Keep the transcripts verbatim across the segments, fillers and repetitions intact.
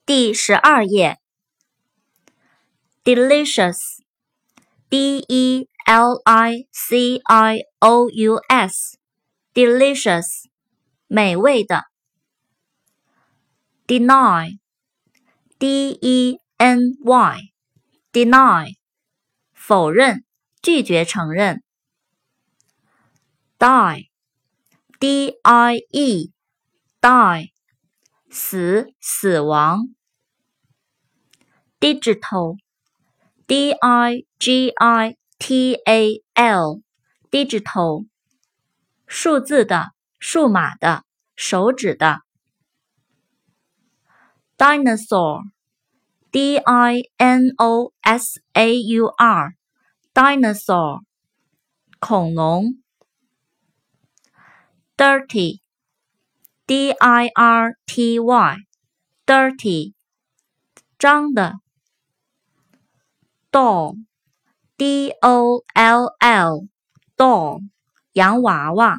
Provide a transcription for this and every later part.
第十二页 delicious D E L I C I O U S delicious 美味的 deny D E N Y deny 否认拒绝承认 die D I E die 死死亡 digital D I G I T A L digital 数字的数码的手指的 dinosaur D I N O S A U R dinosaur 恐龙 dirty D I R T Y dirty 脏的 doll D O L L doll 洋娃娃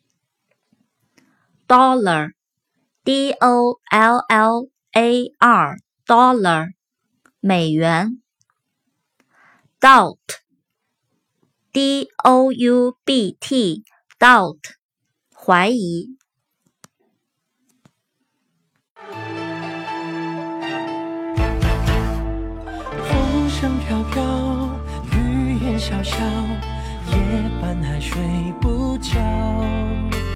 dollar D O L L A R dollar 美元 doubt D O U B T doubt 怀疑风声飘飘，雨烟潇潇，夜半还睡不着。